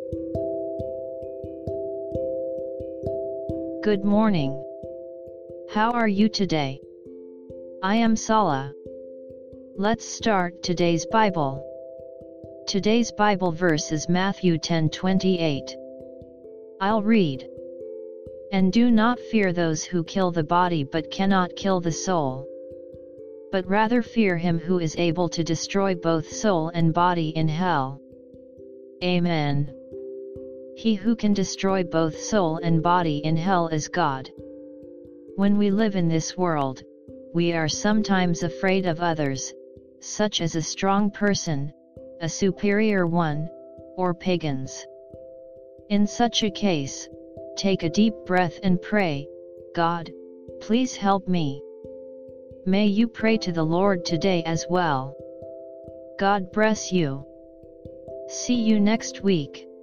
Good morning. How are you today? I am Sala. Let's start today's Bible. Today's Bible verse is Matthew 10:28. I'll read. And do not fear those who kill the body but cannot kill the soul, but rather fear him who is able to destroy both soul and body in hell. Amen. He who can destroy both soul and body in hell is God. When we live in this world, we are sometimes afraid of others, such as a strong person, a superior one, or pagans. In such a case, take a deep breath and pray, God, please help me. May you pray to the Lord today as well. God bless you. See you next week.